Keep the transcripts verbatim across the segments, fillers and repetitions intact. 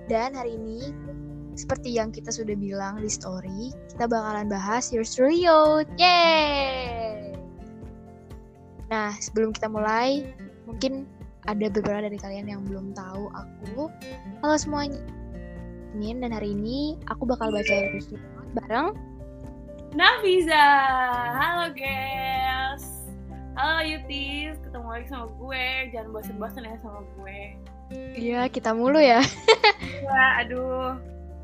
Dan hari ini, seperti yang kita sudah bilang di story, kita bakalan bahas Yours Truly Youth. Yeay! Nah, sebelum kita mulai, mungkin ada beberapa dari kalian yang belum tahu aku. Halo semuanya, dan hari ini aku bakal bacain Yours Truly Youth bareng Nafiza. Halo guys. Halo Yutis, ketemu lagi sama gue. Jangan bosan-bosan ya sama gue. Iya, kita mulu ya. Ya, aduh.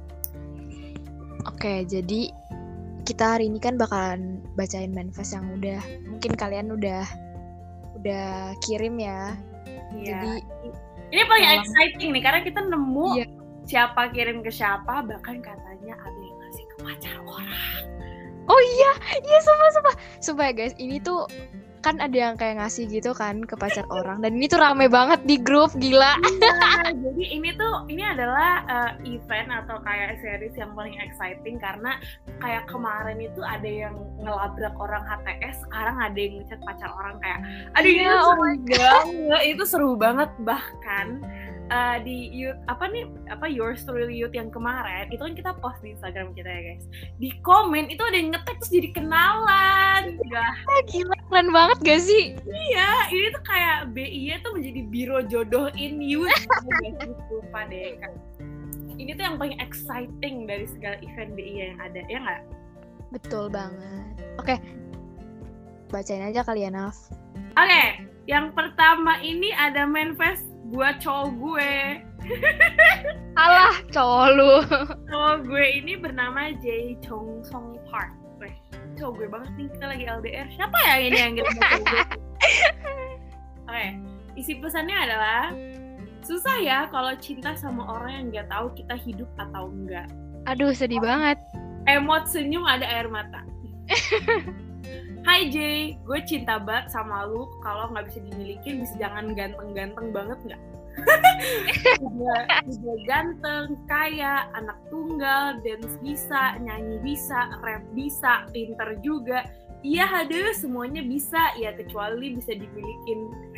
Oke, jadi kita hari ini kan bakalan bacain manifest yang udah mungkin kalian udah udah kirim ya. Iya. Jadi ini paling malam, exciting nih karena kita nemu iya. siapa kirim ke siapa, bahkan katanya ada yang ngasih ke pacar orang. Oh iya, iya sumpah sumpah. Sumpah ya guys, ini tuh kan ada yang kayak ngasih gitu kan ke pacar orang, dan ini tuh rame banget di grup, gila. Iya, jadi ini tuh ini adalah uh, event atau kayak series yang paling exciting karena kayak kemarin itu ada yang ngelabrak orang H T S, sekarang ada yang ngechat pacar orang kayak aduh Iya, ini oh seru my banget, itu seru banget. Bahkan uh, di youth apa nih apa Yours Truly Youth yang kemarin itu kan kita post di Instagram kita ya guys, di komen itu ada yang nge-tag terus jadi kenalan. Gak. Gila, keren banget gak sih? Iya, ini tuh kayak B I tuh menjadi biro jodoh in youth. Lupa deh kan. Ini tuh yang paling exciting dari segala event B I yang ada, ya nggak? Betul banget. Oke, bacain aja kali ya, Naf. Oke, yang pertama ini ada manifest buat cowok gue. Alah, cowok lu. Cowok gue ini bernama Jae Chong Song Park. Weh, cowok gue banget nih, kita lagi L D R. Siapa ya ini yang ngirim cowok gue? Oke, isi pesannya adalah susah ya kalau cinta sama orang yang nggak tahu kita hidup atau enggak. Aduh, sedih banget. Emot senyum ada air mata. Hai Jay, gue cinta banget sama lu. Kalau nggak bisa dimiliki, bisa jangan ganteng-ganteng banget nggak? Udah, udah ganteng, kaya, anak tunggal, dance bisa, nyanyi bisa, rap bisa, pinter juga. Iya ada, semuanya bisa, ya kecuali bisa dimilikin.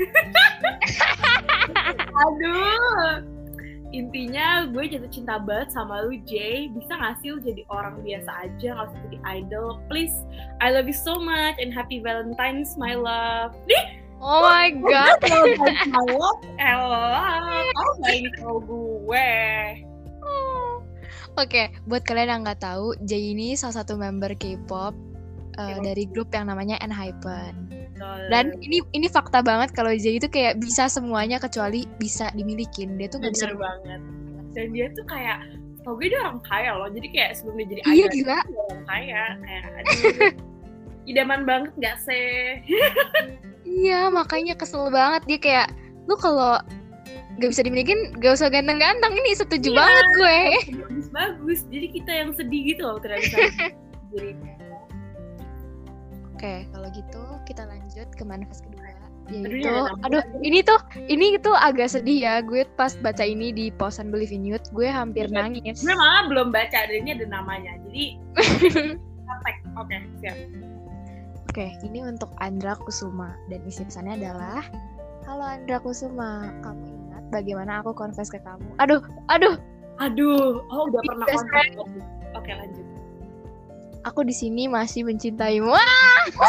Aduh. Intinya gue jatuh cinta banget sama lu Jay. Bisa gak sih lu jadi orang biasa aja, gak usah jadi idol. Please, I love you so much and happy Valentine's my love. Nih, oh my god. Valentine's my love, elah. Oh gak ini kalau gue. Oke, buat kalian yang nggak tahu, Jay ini salah satu member K-pop uh, dari grup yang namanya ENHYPEN. Dan ini ini fakta banget kalau Jay itu kayak bisa semuanya kecuali bisa dimilikin. Dia tuh nggak bisa banget. Dan dia tuh kayak, tau gue dia orang kaya loh. Jadi kayak sebelum dia jadi iya, idol, gila. dia orang kaya. Kayak aduh, idaman banget nggak sih? Iya, makanya kesel banget dia kayak, lu kalau nggak bisa dimilikin, gak usah ganteng-ganteng. Ini setuju iya, banget gue. Bagus-bagus. Jadi kita yang sedih gitu loh tidak bisa jadi. Oke, kalau gitu kita lanjut ke manifest kedua. Yaitu, Aduh, aduh, ini tuh, ini tuh agak sedih ya. Gue pas baca ini di posan Believe in Youth, gue hampir ya, nangis. Gue malah belum baca, dan ini ada namanya. Jadi, oke, siap. Oke, ini untuk Andra Kusuma. Dan isi pesannya adalah, halo Andra Kusuma, kamu ingat bagaimana aku confess ke kamu? Aduh, aduh. Aduh, oh udah pernah confess. Oke, lanjut. Aku di sini masih mencintaimu. Wah!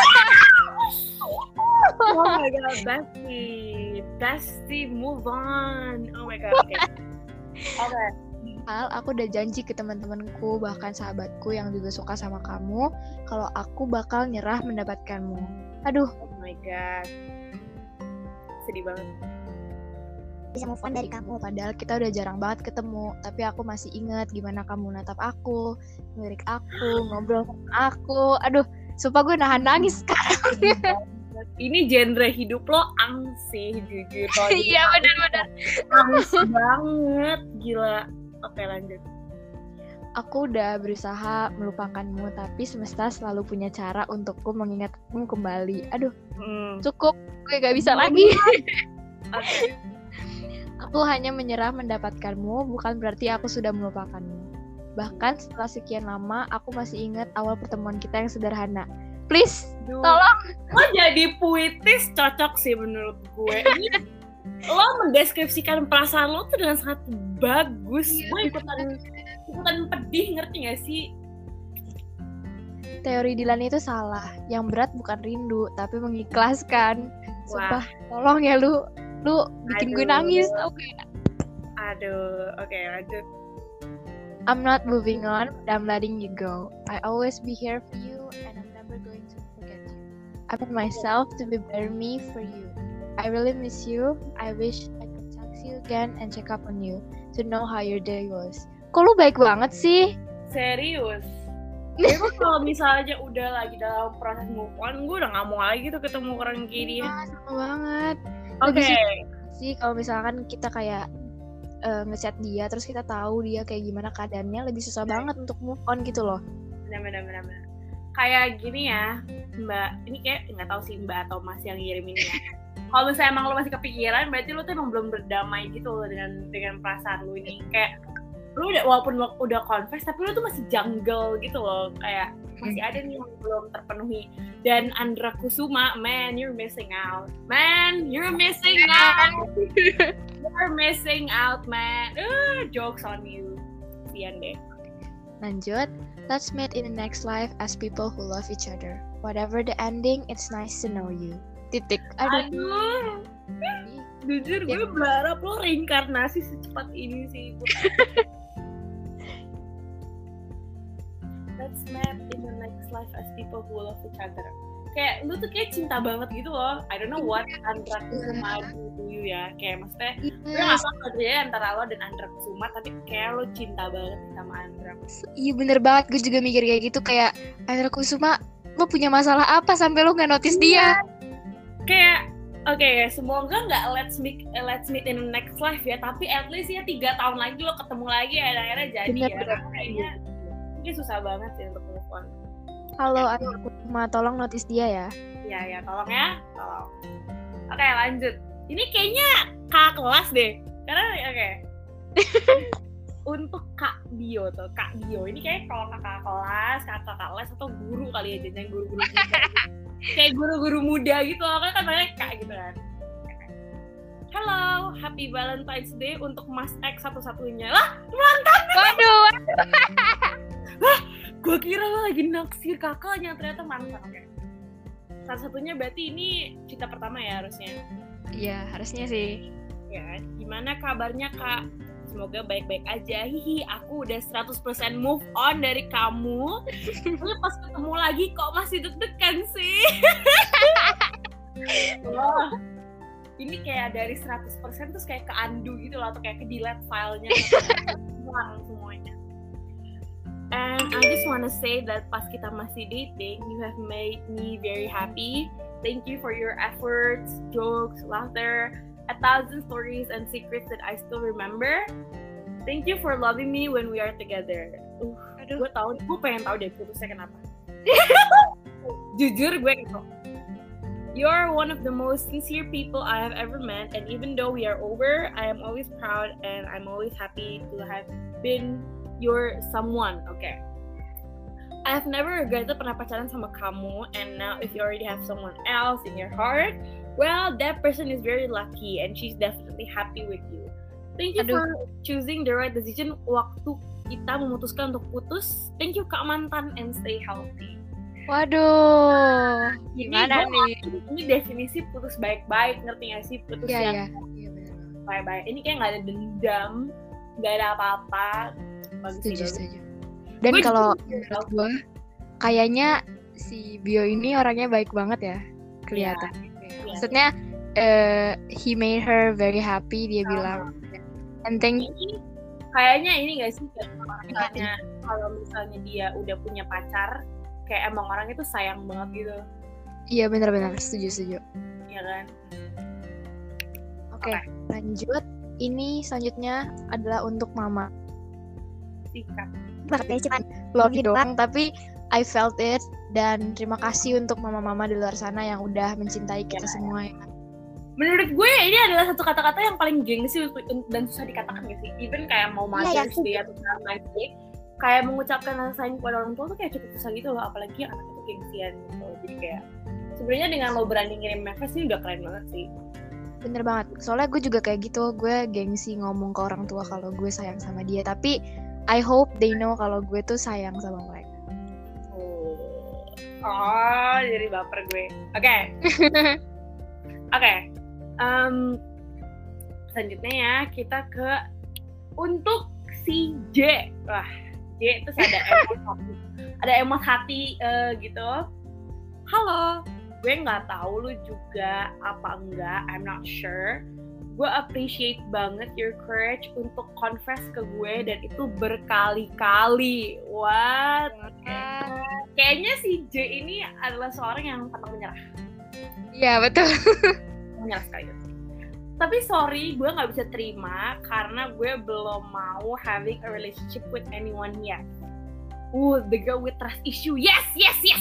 Oh my god, Besti, Besti, move on. Oh my god, oke. Okay. Oke. Okay. Hal, aku udah janji ke teman-temanku, bahkan sahabatku yang juga suka sama kamu, kalau aku bakal nyerah mendapatkanmu. Aduh. Oh my god. Sedih banget. Bisa move on dari kamu, padahal kita udah jarang banget ketemu, tapi aku masih ingat gimana kamu natap aku, ngelirik aku, ngobrol sama aku. Aduh, sumpah gue nahan nangis sekarang. Ini genre hidup lo angsih, jujur. Iya, benar-benar. Angsih banget, gila. Oke, lanjut. Aku udah berusaha melupakanmu, tapi semesta selalu punya cara untukku mengingatmu kembali. Aduh, hmm. cukup, gue gak bisa lagi. Oke. Aku hanya menyerah mendapatkanmu, bukan berarti aku sudah melupakanmu. Bahkan setelah sekian lama, aku masih ingat awal pertemuan kita yang sederhana. Please, Duh. tolong. Lo jadi puitis cocok sih menurut gue. Lo mendeskripsikan perasaan lo tuh dengan sangat bagus. Gue ikutan ikutan pedih, ngerti gak sih? Teori Dilan itu salah. Yang berat bukan rindu, tapi mengikhlaskan. Sumpah, tolong ya lu, lu bikin gue nangis, tau gak? Aduh, oke okay, lanjut. I'm not moving on, but I'm letting you go. I always be here for you, and I'm never going to forget you. I put myself to be better me for you. I really miss you. I wish I could text you again and check up on you to know how your day was. Kok lu baik banget sih? Serius? Gue kalau misalnya udah lagi dalam proses move on, gue udah gak mau lagi tuh ketemu orang kayak dia. Ah, sama banget. Oke. Okay. Sih kalau misalkan kita kayak uh, ngechat dia, terus kita tahu dia kayak gimana keadaannya, lebih susah nah. banget untuk move on gitu loh. Benar-benar. Kayak gini ya, Mbak. Ini kayak nggak tahu sih Mbak atau Mas yang ngirim ini ya. Kalau misalnya emang lo masih kepikiran, berarti lo tuh emang belum berdamai gitu loh dengan dengan perasaan lo ini. Kayak lu udah walaupun lu udah confess tapi lu tuh masih jungle gitu loh, kayak masih ada nih yang belum terpenuhi. Dan Andra Kusuma, man, you're missing out, man, you're missing out, you're missing out, man. Uh, jokes on you, sian deh. Lanjut, let's meet in the next life as people who love each other. Whatever the ending, it's nice to know you. Titik. Aduh. Aduh. Jujur gue ya. Berharap lo reinkarnasi secepat ini sih. Let's meet in the next life as people who love each other. Kayak lu tuh kayak cinta banget gitu loh. I don't know what Andra Kusuma do you ya. Kayak maksudnya gue gak apa-apa ya antara lo dan Andra Kusuma, tapi kayak lo cinta banget sama Andra. Iya bener banget, gue juga mikir kayak gitu. Kayak Andra Kusuma, lo punya masalah apa sampai lo gak notice dia? Kayak oke, okay, semoga nggak let's meet let's meet in the next life ya, tapi at least ya tiga tahun lagi lo ketemu lagi ya, akhirnya jadi bener, ya. Bener. Kayaknya ini susah banget sih untuk move on. Halo Andra Kusuma, tolong notice dia ya. Iya ya, tolong ya, tolong. Oke okay, lanjut. Ini kayaknya kakak kelas deh, karena oke. Okay. Untuk Kak Bio tuh, Kak Bio ini kayak kalau kakak kelas, kakak les atau guru kali ya, jangan guru-guru muda. Kayak guru-guru muda gitu loh, kan banyak Kak gitu kan. Hello, happy Valentine's Day untuk Mas X satu-satunya. Lah, mantan. Waduh. Lah, gue kira lo lagi naksir kakaknya, ternyata mantan. Oke. Satu-satunya berarti ini cinta pertama ya harusnya. Iya, harusnya sih. Ya, gimana kabarnya Kak? Semoga baik-baik aja. Hihi, aku udah seratus persen move on dari kamu. Tapi pas ketemu lagi kok masih deg-degan sih. Wah, ini kayak dari seratus persen terus kayak ke undo gitu loh, atau kayak ke delete filenya. Hilang semuanya. And I just wanna say that pas kita masih dating, you have made me very happy. Thank you for your efforts, jokes, laughter, a thousand stories and secrets that I still remember. Thank you for loving me when we are together. Uh, gue tahu, gue pengen tahu deh putusnya kenapa. Jujur gue gitu. You're one of the most sincere people I have ever met, and even though we are over, I am always proud and I'm always happy to have been your someone. Okay. I have never regretted pernah pacaran sama kamu, and now if you already have someone else in your heart, well, that person is very lucky and she's definitely happy with you. Thank you Aduh. for choosing the right decision waktu kita memutuskan untuk putus. Thank you Kak Mantan and stay healthy. Waduh, gimana ini nih? Ini definisi putus baik-baik, ngerti gak sih? Putus ya, yang ya. Ya, baik-baik. Ini kayak gak ada dendam, gak ada apa-apa. Bagus setuju, setuju. Dan kalau menurut gue, kayaknya si Bio ini orangnya baik banget ya, kelihatan. Ya. Maksudnya, uh, he made her very happy, dia uh, bilang. And thank you. Kayaknya ini gak sih, misalnya, kalau misalnya dia udah punya pacar, kayak emang orangnya tuh sayang banget gitu. Iya benar-benar, setuju, setuju. Iya kan? Oke, okay, okay. Lanjut. Ini selanjutnya adalah untuk Mama. Sikat. Pakai cuma Loki doang, tapi I felt it, dan terima kasih untuk mama-mama di luar sana yang udah mencintai kita ya, semua ya. Menurut gue ini adalah satu kata-kata yang paling gengsi dan susah dikatakan gak sih? Even kayak mau Mother's ya, Day atau Valentine's Day, kayak mengucapkan rasa sayang kepada orang tua tuh kayak cukup susah gitu loh, apalagi anak itu gengsian gitu. Jadi kayak sebenarnya dengan lo berani ngirim message ini udah keren banget sih. Bener banget. Soalnya gue juga kayak gitu. Gue gengsi ngomong ke orang tua kalau gue sayang sama dia. Tapi I hope they know kalau gue tuh sayang sama mereka. Oh, oh jadi baper gue. Oke. Okay. Oke. Okay. Um, selanjutnya ya kita ke untuk si J. Wah, J itu ada emot hati. Ada emot hati uh, gitu. Halo. Gue nggak tahu lu juga apa enggak, I'm not sure. Gue appreciate banget your courage untuk confess ke gue dan itu berkali-kali. What? Okay. Kayaknya si J ini adalah seorang yang pantang menyerah. Iya betul. Menyerah sekali. Tapi sorry, gue nggak bisa terima karena gue belum mau having a relationship with anyone yet. Uh, the girl with trust issue. Yes, yes, yes.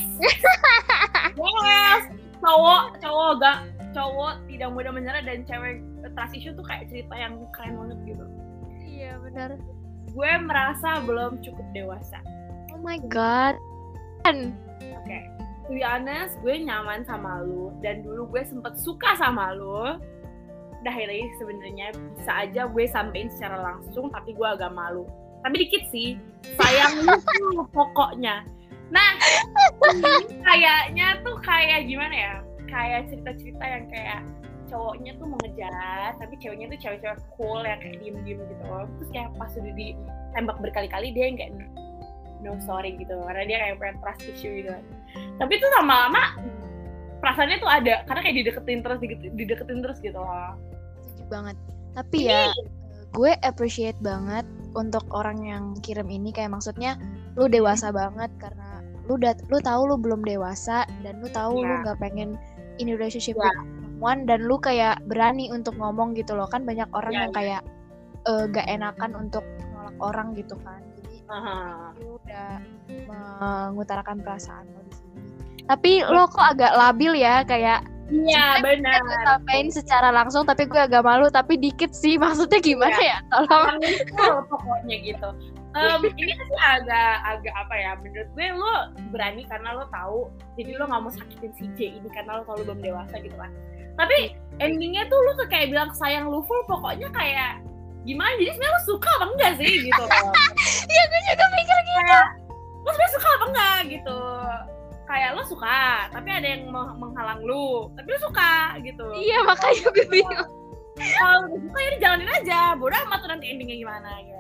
Yes. Cowok, cowok gak, cowok tidak mudah menyerah dan cewek trust issue tuh kayak cerita yang keren banget gitu. Iya benar. Gue merasa belum cukup dewasa. Oh my god. Oke, okay. To be honest, gue nyaman sama lu dan dulu gue sempet suka sama lu. Dah ini sebenarnya bisa aja gue sampein secara langsung tapi gue agak malu. Tapi dikit sih, sayang lu pokoknya. Nah, ini kayaknya tuh kayak gimana ya? Kayak cerita-cerita yang kayak cowoknya tuh mau ngejar, tapi ceweknya tuh cewek-cewek cool yang kayak diem-diem gitu. Terus kayak pas udah ditembak berkali-kali dia yang kayak no sorry gitu, karena dia kayak punya trust issue gitu. Tapi tuh lama-lama perasaannya tuh ada, karena kayak dideketin terus, dideketin terus gitu loh. Setuju banget. Tapi ya, gue appreciate banget untuk orang yang kirim ini, kayak maksudnya lu dewasa banget karena lu udah lu tahu lu belum dewasa dan lu tahu yeah. lu nggak pengen in relationship yeah. with someone dan lu kayak berani untuk ngomong gitu loh. Kan banyak orang yeah, yang yeah. kayak uh, gak enakan untuk nolak orang gitu kan. Jadi uh-huh. lu udah mengutarakan perasaan lo di sini. Tapi lo kok agak labil ya, kayak iya benar. Gue sampaikan secara langsung tapi gue agak malu, tapi dikit sih, maksudnya gimana ya? ya? Tolong. Pokoknya gitu. Um, ini sih agak agak apa ya? Menurut gue lo berani karena lo tahu, jadi lo nggak mau sakitin si J ini karena lo tahu lo belum dewasa gitu kan. Tapi endingnya tuh lo kayak bilang sayang lo full, pokoknya kayak gimana? Jadi sebenarnya lo suka apa enggak sih gitu? Iya gue juga mikir gitu. Kayak, lo sebenarnya suka apa enggak gitu? Kayak lo suka, tapi ada yang menghalang lo, tapi lo suka gitu. Iya makanya gue bingung. Kalau lo suka ya dijalanin aja, bodoh amat tuh nanti endingnya gimana gitu.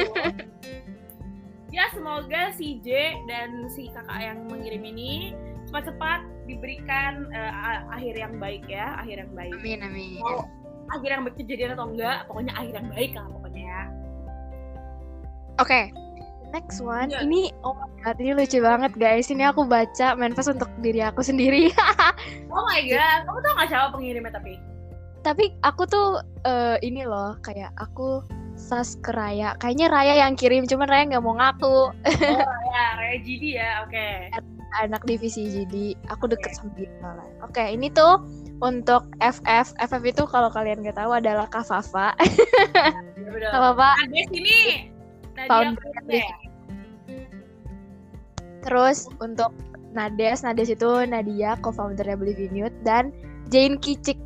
Ya semoga si J dan si kakak yang mengirim ini cepat-cepat diberikan uh, akhir yang baik ya, akhir yang baik. Amin amin. Mau akhir yang baik kejadian atau enggak, pokoknya akhir yang baik lah pokoknya ya. Oke. Okay. Next one, yeah. Ini oh my god, ini lucu banget guys. Ini aku baca manifest untuk diri aku sendiri. Oh my god, kamu tau gak siapa pengirimnya tapi? Tapi aku tuh uh, ini loh, kayak aku sas ke Raya. Kayaknya Raya yang kirim, cuman Raya nggak mau ngaku. Oh Raya, Raya G D ya, oke. Okay. Anak divisi G D, aku deket okay. sama dia malah. Oke, okay, ini tuh untuk F F. F F itu kalau kalian nggak tahu adalah Kak Fafa. Kak Fafa. Ada sini. Nadia. Terus untuk Nades, Nades itu Nadia, co-foundernya Believe in Youth, dan Jane Kicik.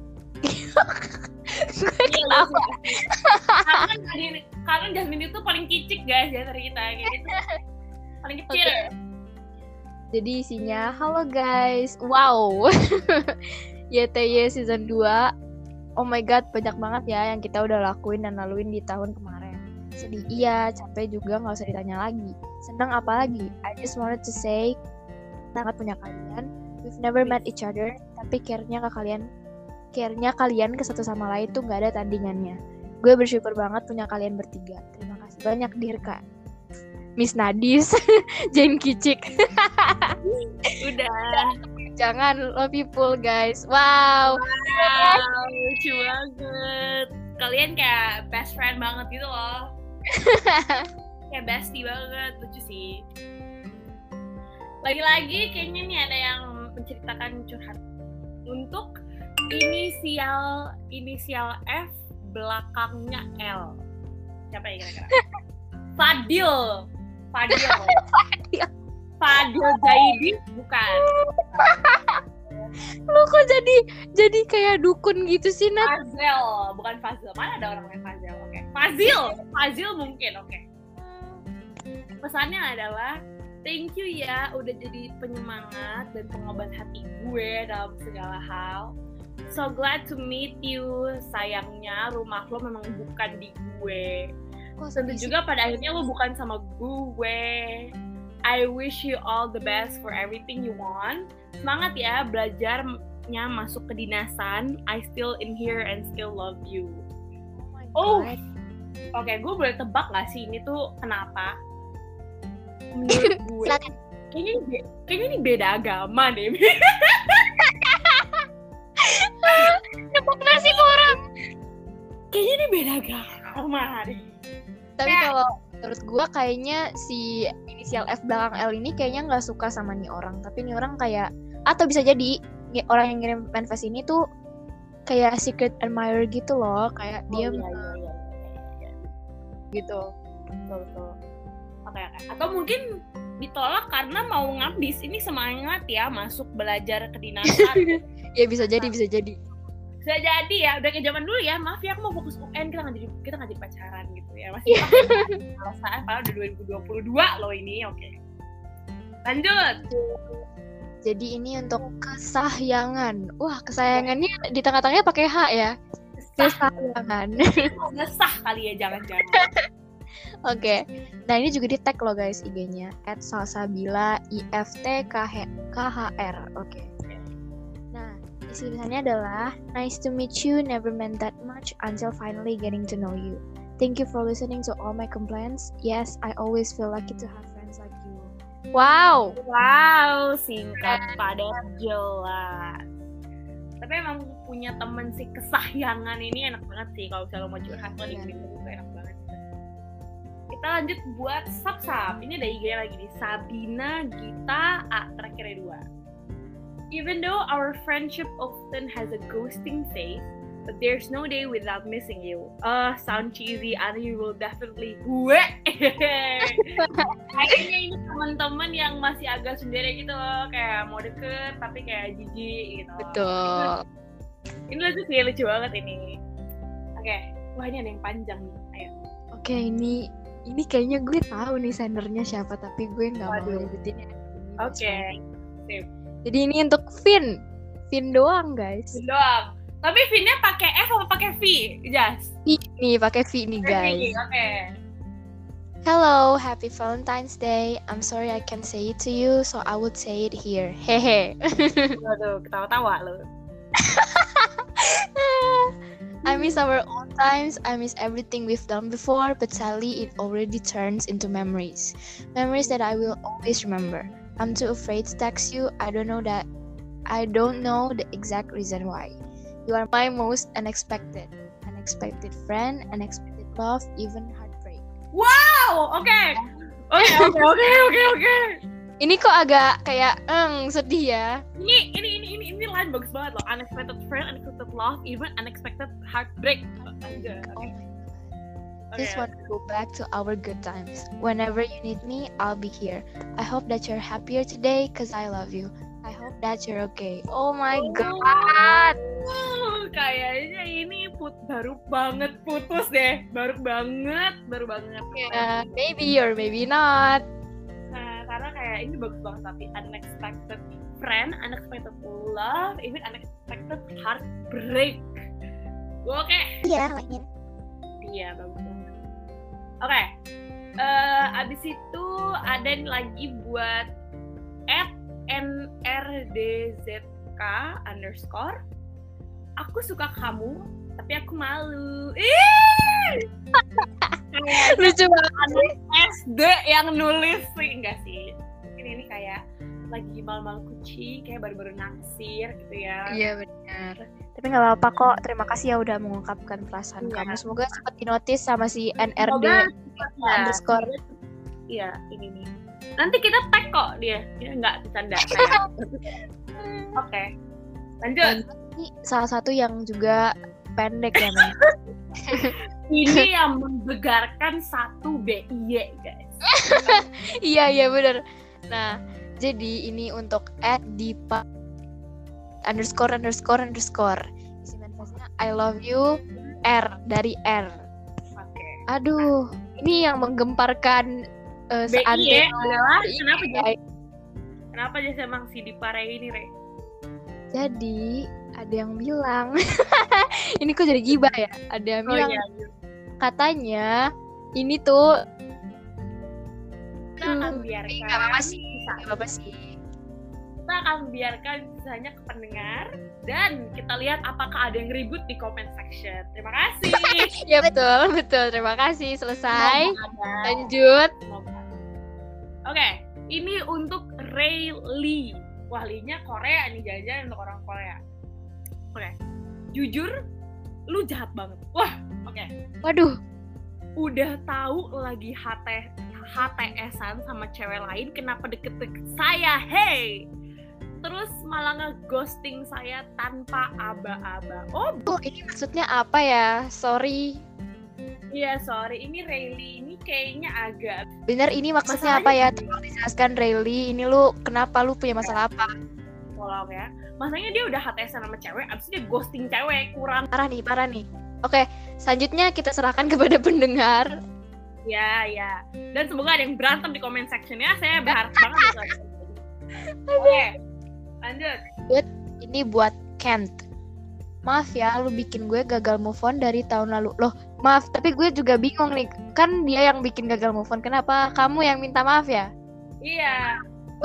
Gue ketawa. Karena karena Jasmine itu paling kicik guys ya dari kita gitu. Paling kecil. Okay. Jadi isinya, halo guys, wow. Y T Y season dua. Oh my god, banyak banget ya yang kita udah lakuin dan laluin di tahun kemarin. Sedih iya, capek juga, nggak usah ditanya lagi. Senang apalagi? I just wanted to say, sangat punya kalian. We've never met each other, tapi care-nya ke kalian, care-nya kalian ke satu sama lain tuh nggak ada tandingannya. Gue bersyukur banget punya kalian bertiga. Terima kasih banyak Dirka, Miss Nadis, Jane Kicik. Udah. Jangan, love you full guys. Wow. Wow, lucu banget. Kalian kayak best friend banget gitu loh. Kayak bestie banget, lucu sih. Lagi-lagi kayaknya nih ada yang menceritakan curhat. Untuk inisial inisial F belakangnya L. Siapa ya kira-kira? Fadil. Fadil. Fadil. Fadil Zaidi bukan. Lu kok jadi jadi kayak dukun gitu sih, Nat? Fazel, bukan Fazil. Mana ada orang yang Fazel? Oke. Okay. Fazil, Fazil mungkin, oke. Okay. Pesannya adalah thank you ya udah jadi penyemangat dan pengobat hati gue dalam segala hal. So glad to meet you. Sayangnya rumah lo memang bukan di gue. Tentu juga pada akhirnya lo bukan sama gue. I wish you all the best for everything you want. Semangat ya belajarnya masuk ke dinasan. I still in here and still love you. Oh, oh. Oke, okay, gue boleh tebak gak sih ini tuh kenapa? Menurut gue, kayaknya ini, kayaknya ini beda agama deh. Nebak nasib orang. Kayaknya ini beda agama deh. Tapi ya. Kalau menurut gue kayaknya si inisial F belakang L ini kayaknya nggak suka sama nih orang. Tapi nih orang kayak, atau bisa jadi orang yang ngirim manifest ini tuh kayak secret admirer gitu loh, kayak oh, dia iya, iya, iya, iya. gitu. Betul betul. Oke, oke. Atau mungkin ditolak karena mau ngabis. Ini semangat ya masuk belajar kedinasan. Ya bisa jadi, bisa jadi. Bisa jadi ya, udah kayak zaman dulu ya. Maaf ya, aku mau fokus U N, kita nggak jadi kita nggak jadi pacaran gitu ya. Masih alasan, padahal udah dua ribu dua puluh dua loh ini. Oke. Lanjut. Jadi ini untuk kesayangan. Wah, kesayangannya di tengah-tengahnya pakai H ya. Kesayangan. Ngesah kali ya, jangan-jangan. Oke, okay. Nah ini juga di tag loh guys I G-nya at salsabila I F T K H R. Oke. Okay. Nah isi tulisannya adalah nice to meet you, never meant that much until finally getting to know you. Thank you for listening to all my complaints. Yes, I always feel lucky to have friends like you. Wow. Wow, singkat padat jelas. Tapi emang punya temen si kesayangan ini enak banget sih kalau misalnya mau curhat lo di gitu itu enak banget. Kita lanjut buat sub-sub. Ini ada I G lagi nih, Sabina Gita A terakhirnya dua. Even though our friendship often has a ghosting phase, but there's no day without missing you. Uh, sound cheesy, and you will definitely gue. Kayaknya ini teman-teman yang masih agak sendiri gitu loh, kayak mau deket tapi kayak jijik gitu. Betul. Ini lucu sih, lucu banget ini. Oke, okay. Wah ini ada yang panjang nih. Ayo. Oke, okay, ini ini kayaknya gue tahu nih sendernya siapa, tapi gue nggak mau nyebutin ya. Oke. Okay. Sip. Jadi ini untuk Vin, Vin doang guys. Vin doang. Tapi Vin-nya pakai F atau pakai V? Jas. Ini pakai V nih guys. Oke. Okay. Hello, happy Valentine's Day. I'm sorry I can't say it to you, so I would say it here. Hehe. Waduh, ketawa-tawa lo. I miss our old times, I miss everything we've done before, but sadly it already turns into memories. Memories that I will always remember. I'm too afraid to text you, I don't know that, I don't know the exact reason why. You are my most unexpected, unexpected friend, unexpected love, even heartbreak. Wow, oke. Okay. Oke, oke, oke, oke, oke. Ini kok agak kayak eng sedih ya. Ini ini ini ini ini line bagus banget loh. Unexpected friend, unexpected love, even unexpected heartbreak. Okay. Oh my god. Just want to go back to our good times. Whenever you need me, I'll be here. I hope that you're happier today cause I love you. I hope that you're okay. Oh my oh, god. Oh, kayaknya ini put baru banget putus deh. Baru banget, baru banget. Yeah, maybe or maybe not. Karena kayak ini bagus banget, tapi unexpected friend, unexpected love, even unexpected heartbreak. Oke. Okay. Iya, yeah, iya bagus banget. Oke, okay. uh, abis itu ada lagi buat at N R D Z K underscore. Aku suka kamu, tapi aku malu. Ih! Lucu banget. S D yang nulis sih, enggak sih? Mungkin ini kayak lagi malu-malu kucing, kayak baru-baru naksir gitu ya. Iya benar. Tapi nggak apa-apa kok. Terima kasih ya udah mengungkapkan perasaan ya. Kamu. Semoga cepat dinotis sama si N R D underscore. Iya, ini nih. Nanti kita tag kok dia. Dia nggak bercanda. Oke, lanjut. Ini salah satu yang juga pendek ya, men. Ini yang membegarkan satu B I Y guys. Iya iya benar. Nah, jadi ini untuk at Dipa underscore underscore underscore. Isi manifestnya I love you R dari R. Oke. Aduh, ini yang menggemparkan uh, B I ya adalah B I, kenapa ya. jadi kenapa jadi emang si Dipare ini, Re? Jadi ada yang bilang ini kok jadi gibah ya? Ada yang Oh bilang iya. katanya ini tuh Kita akan Hmm, biarkan nggak apa-apa sih, kisah- nggak apa-apa sih. Kita akan biarkan kisahnya ke pendengar dan kita lihat apakah ada yang ribut di comment section. Terima kasih. Ya betul, betul. Terima kasih. Selesai. Semoga ada. Lanjut. Semoga. Oke, ini untuk Ray Lee. Wah, Lee-nya Korea nih, jajan untuk orang Korea. Oke, jujur, lu jahat banget. Wah, oke. Waduh. Udah tahu lagi H T H T S-an sama cewek lain, kenapa deket-deket saya? Hey! Terus malah nge-ghosting saya tanpa aba-aba. Oh, Oh, ini maksudnya apa ya? Sorry. iya, sorry. Ini Rayleigh ini kayaknya agak... Bener, ini maksudnya apa ya? Tolong dijelaskan, Rayleigh. Ini lu kenapa lu punya masalah apa? Tolong ya. Masanya dia udah H T S-an sama cewek, abis itu dia ghosting cewek. Kurang. Parah nih, parah nih. Oke, selanjutnya kita serahkan kepada pendengar. Ya, ya. Dan semoga ada yang berantem di comment section ya. Saya berharap banget. Gitu. Oke, lanjut. Ini buat Kent. Maaf ya, lu bikin gue gagal move on dari tahun lalu. Loh, maaf, tapi gue juga bingung nih. Kan dia yang bikin gagal move on. Kenapa kamu yang minta maaf ya? Iya.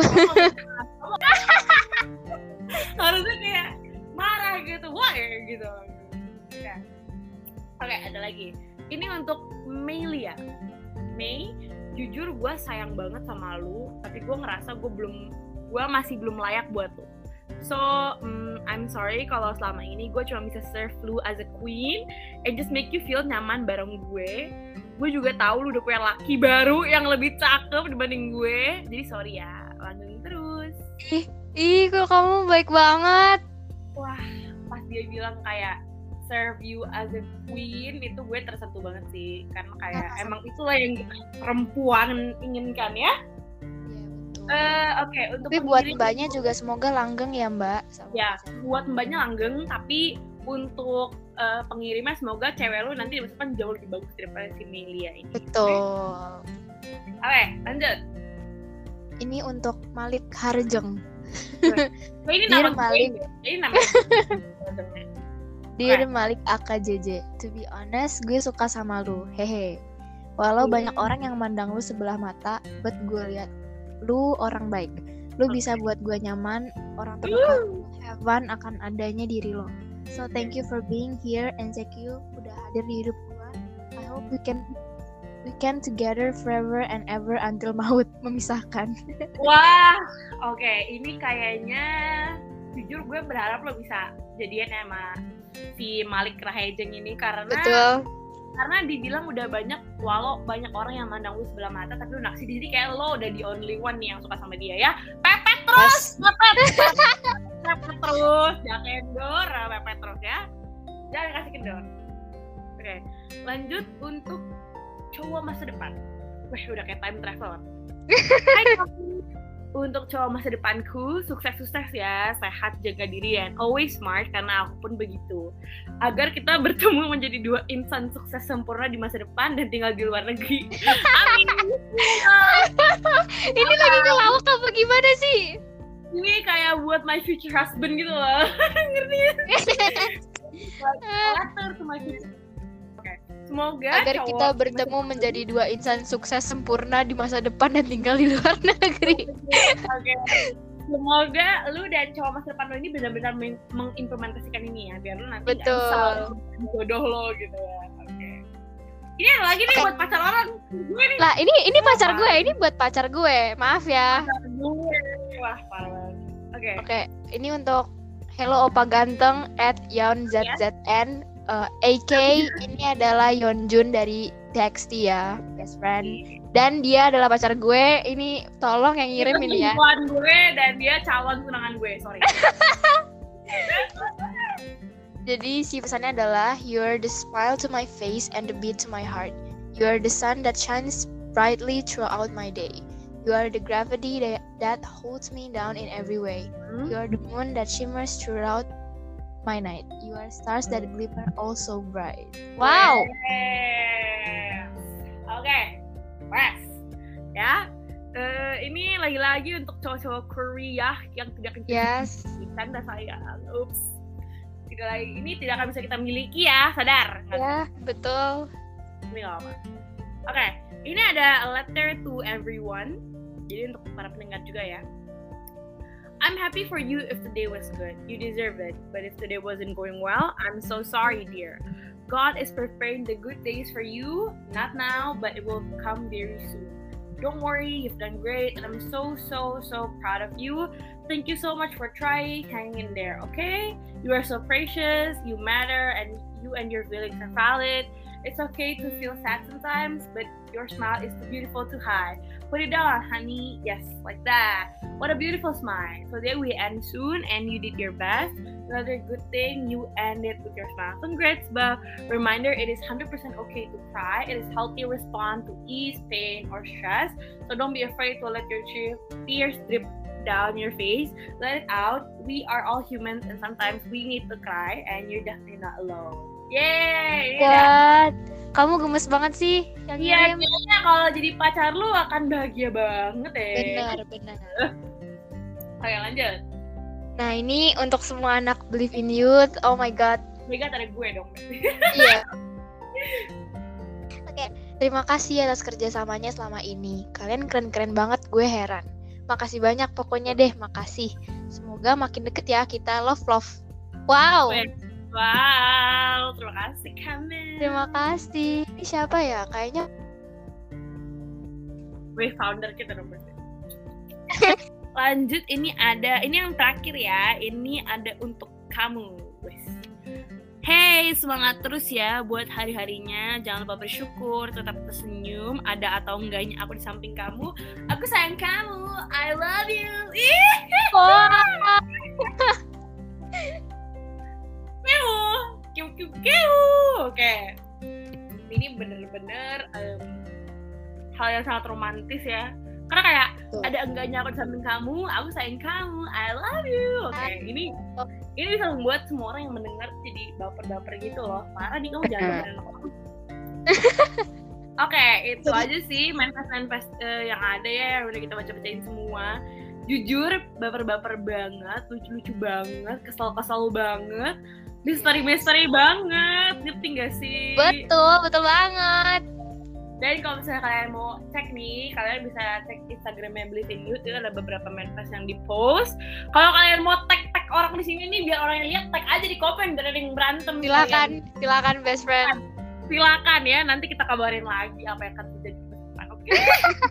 Harusnya kayak marah gitu. Wah, gitu. Ya. Oke, ada lagi. Ini untuk Melia. Mei, jujur gue sayang banget sama lu, tapi gue ngerasa gue belum, gue masih belum layak buat lu. So, um, I'm sorry kalau selama ini gue cuma bisa serve lu as a queen and just make you feel nyaman bareng gue. Gue juga tahu lu udah punya laki baru yang lebih cakep dibanding gue. Jadi sorry ya, lanjutin terus. Ih, ih, kok kamu baik banget. Wah, pas dia bilang kayak serve you as a queen, itu gue tersentuh banget sih. Karena kayak Ah, emang itulah yang kita perempuan inginkan ya. Iya, betul. Uh, Oke, okay, untuk Tapi buat pengirim- mbaknya juga semoga langgeng ya, Mbak. Sama Ya, pacarnya. buat mbaknya langgeng, tapi untuk uh, pengirimnya semoga cewek lu nanti di masa depan jauh lebih bagus daripada si Melia ini. Betul. Oke, okay, lanjut. Ini untuk Malik Harjeng. Oh, ini Dear nama Malik. gue. Ini nama gue. Dear Malik A K J J, to be honest, gue suka sama lu. Hehe. Walau Hmm. banyak orang yang mandang lu sebelah mata, but gue lihat lu orang baik. Lu Okay. bisa buat gue nyaman, orang terdekat lu have fun akan adanya diri lo. So thank you for being here and thank you udah hadir di hidup gue. I hope we can we can together forever and ever until maut memisahkan. Wah, oke, okay. Ini kayaknya jujur gue berharap lo bisa jadian sama si Malik Rahejeng ini karena Betul. karena dibilang udah banyak, walau banyak orang yang mandang lu sebelah mata, tapi lu naksir diri kayak lo udah the only one nih yang suka sama dia ya. Pepet terus, pepet, pepet terus, jangan kendor, pepet terus ya, jangan kasih kendor. Oke, lanjut untuk cowok masa depan. Wah, udah kayak time traveler. Hai kamu. Untuk cowok masa depanku, sukses-sukses ya, sehat, jaga diri, and always smart, karena aku pun begitu. Agar kita bertemu menjadi dua insan sukses sempurna di masa depan dan tinggal di luar negeri. Amin. Ini lagi ngelawak apa gimana sih? Ini kayak buat my future husband gitu loh. Ngerti ya? Letter to my future. Oke. Semoga Agar cowok kita bertemu menjadi dua insan sukses sempurna di masa depan dan tinggal di luar negeri. Oke. Semoga lu dan cowok masa depan lo ini benar-benar meng- mengimplementasikan ini ya, biar lu nanti nggak Betul. nyesal jodoh lo gitu ya. Oke. Ini ada lagi nih Oke. buat pacar orang. Gue nih Lah, ini ini pacar gue, ini buat pacar gue. Maaf ya. pacar gue. Wah, parah banget. Oke. Oke, ini untuk Hello Opa Ganteng at YonZZN uh, A K ini adalah Yeonjun dari T X T ya, best friend. Dan dia adalah pacar gue. Ini tolong yang ngirim Itu ini ya. selingkuhan gue dan dia calon tunangan gue, sorry. Jadi si pesannya adalah you're the smile to my face and the beat to my heart. You are the sun that shines brightly throughout my day. You are the gravity that, that holds me down in every way. Mm-hmm. You are the moon that shimmers throughout my night. You are stars that glimmer all so bright. Wow. Yes. Oke, okay. Wes. Ya. Uh, ini lagi-lagi untuk cowok-cowok Korea yang tidak Yes. Canda sayang. Ups. Tidak lagi. Ini tidak akan bisa kita miliki ya, sadar? Ya, yeah, betul. Ini nggak apa. Oke, okay. Ini ada a letter to everyone. Jadi untuk para pendengar juga ya. I'm happy for you if the day was good. You deserve it. But if the day wasn't going well, I'm so sorry, dear. God is preparing the good days for you. Not now, but it will come very soon. Don't worry, you've done great. And I'm so, so, so proud of you. Thank you so much for trying, hanging in there, okay? You are so precious. You matter. And you and your feelings are valid. It's okay to feel sad sometimes, but your smile is too beautiful to hide. Put it down, honey. Yes, like that. What a beautiful smile. Today we end soon and you did your best. Another good thing, you ended with your smile. Congrats, but reminder, it is one hundred percent okay to cry. It is healthy respond to ease, pain, or stress. So don't be afraid to let your tears drip down your face. Let it out. We are all humans and sometimes we need to cry and you're definitely not alone. Yeay! God, kamu gemes banget sih yang Iya, ngirim. kayaknya kalau jadi pacar lu akan bahagia banget ya. Benar, benar. Oke, lanjut. Nah, ini untuk semua anak Believe in Youth. Oh my God. Mega ada gue dong. Iya. Oke, terima kasih atas kerjasamanya selama ini. Kalian keren-keren banget, gue heran. Makasih banyak pokoknya deh, makasih. Semoga makin deket ya kita. Love, love. Wow. Wow, terima kasih Kamil. Terima kasih. Ini siapa ya? Kayaknya gue founder kita dong. Lanjut, ini ada, ini yang terakhir ya. Ini ada untuk kamu, guys. Hey, semangat terus ya buat hari-harinya. Jangan lupa bersyukur, tetap tersenyum. Ada atau enggaknya aku di samping kamu. Aku sayang kamu. I love you. oh. Kiu, kiu, kiu, kiu. Oke, ini bener-bener um, hal yang sangat romantis ya. Karena kayak Tuh. ada enggaknya aku di samping kamu, aku sayang kamu, I love you. Oke, okay, ini ini bisa membuat semua orang yang mendengar jadi baper-baper gitu loh. Parah nih, kamu jangan dengerin aku. Oke, okay, itu aja sih manifest-manifest uh, yang ada ya, yang udah kita baca-bacain semua. Jujur, baper-baper banget, lucu-lucu banget, kesel-kesel banget. Misteri-misteri banget, ngerti gak sih? Betul, betul banget. Dan kalau misalnya kalian mau cek nih, kalian bisa cek Instagramnya Believe in Youth, itu ada beberapa manifest yang di-post. Kalau kalian mau tag-tag orang di sini nih, biar orang yang lihat, tag aja di komen, biar ada yang berantem. Silakan, kalian. silakan best friend. Silakan ya, nanti kita kabarin lagi apa yang akan terjadi ke depan, oke? Okay?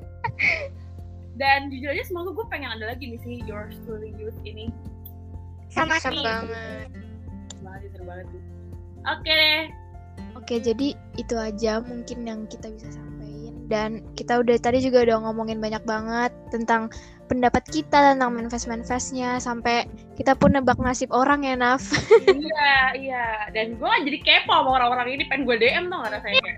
Dan jujur aja semoga gue pengen ada lagi nih sih Yours Truly Youth ini. Sama seru banget. Banget, seru banget tuh. Oke deh. Oke, jadi itu aja mungkin yang kita bisa sampaikan. Dan kita udah tadi juga udah ngomongin banyak banget tentang pendapat kita tentang manifest-manifestnya. Sampai kita pun nebak nasib orang ya, Naf. Iya, iya. Dan gue jadi kepo sama orang-orang ini, pengen gue D M tau gak rasanya.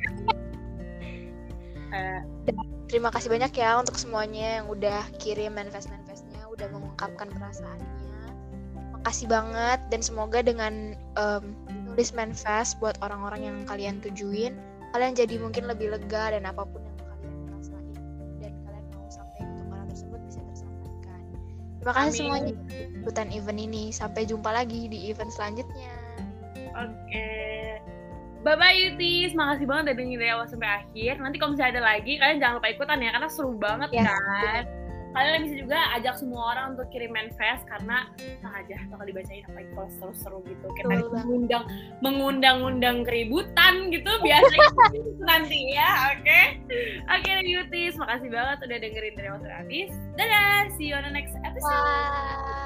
uh, Terima kasih banyak ya untuk semuanya yang udah kirim manifest-manifestnya, udah mengungkapkan perasaannya. Makasih banget, dan semoga dengan um, nulis manifest buat orang-orang yang kalian tujuin, kalian jadi mungkin lebih lega dan apapun yang kalian rasain dan kalian mau sampaikan untuk orang tersebut bisa tersampaikan. Terima kasih Amin. Semuanya ikutan event ini. Sampai jumpa lagi di event selanjutnya. Oke. Okay. Bye-bye Yutis, makasih banget udah dengerin dari awal sampai akhir. Nanti kalau misalnya ada lagi, kalian jangan lupa ikutan ya, karena seru banget yes. kan. Kalian bisa juga ajak semua orang untuk kirim manifest, karena nah aja bakal dibacain apalagi kalau seru-seru gitu. Kita mengundang mengundang-undang keributan gitu biasanya gitu nanti ya, oke? Okay? Oke okay, Yutis, makasih banget udah dengerin dari awal sampai habis. Dadah, see you on the next episode. Bye.